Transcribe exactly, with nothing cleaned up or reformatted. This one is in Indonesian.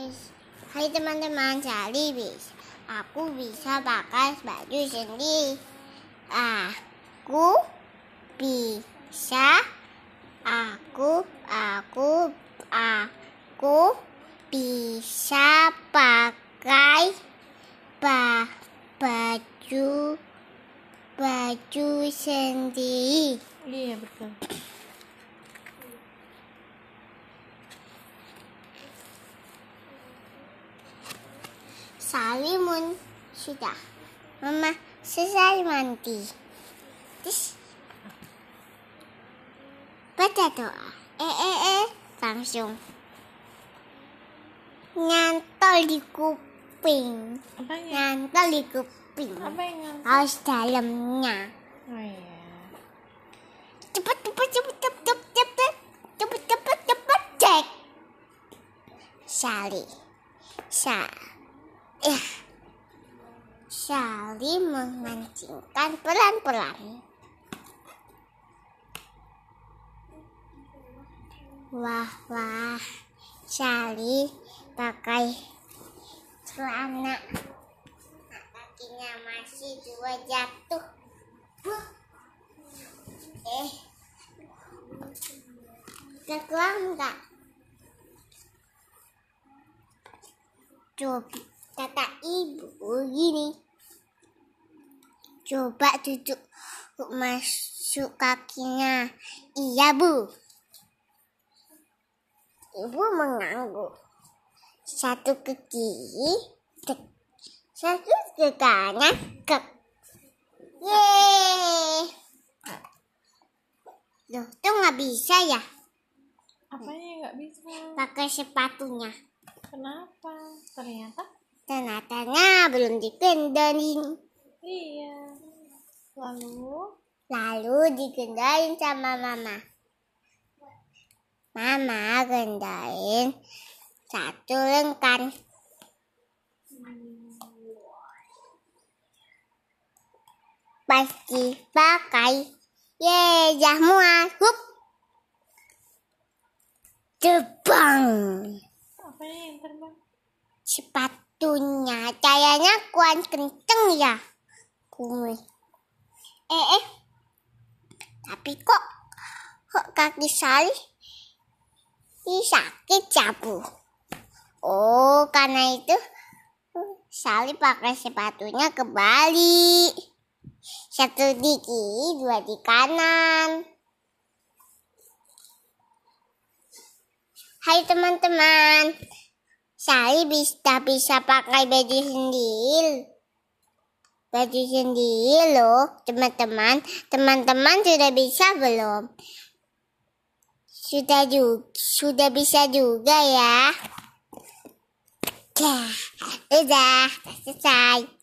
Hai teman-teman, Sally bisa. Aku bisa pakai baju sendiri. Aku bisa. Aku, aku, aku bisa pakai ba, baju, baju sendiri. Iya betul. Sally mun sudah. Mama selesai mandi. Terus baca doa. Eh eh eh langsung nyantol di kuping. Apanya? Nyantol di kuping. Apa yang nyantol? Harus dalamnya. Oh iya. Cepet cepet cepet cepet cepet cepet cepet cepet cepet cek. Sally. Sa. Ya. Sally memancingkan pelan-pelan. Wah, wah. Sally pakai celana. Kakinya masih dua jatuh. Huh. Eh. Keluar enggak? Coba kata ibu gini. Coba duduk masuk kakinya. Iya, Bu. Ibu mengangguk. Satu ke kiri, cek. Satu ke kanan, kek. Yeay. Loh, itu nggak bisa ya? Apanya yang nggak bisa? Pakai sepatunya. Kenapa? Ternyata? Ternyata belum dikendarin. Iya. Lalu? Lalu dikendarin sama mama. Mama kendarin satu lengkan. Pasti pakai. Yeay, jamuan. Hup. Terbang. Apanya yang terbang? Sepatunya kayaknya kuat kenceng ya. Kumis. Eh eh. Tapi kok kok kaki Sally ini sakit ya, Bu? Oh, karena itu Sally pakai sepatunya kebalik. Satu di kiri, dua di kanan. Hai teman-teman. Sally bisa bisa pakai baju sendiri. Baju sendiri loh, teman-teman. Teman-teman sudah bisa belum? Sudah juga, sudah bisa juga ya. Udah, udah selesai.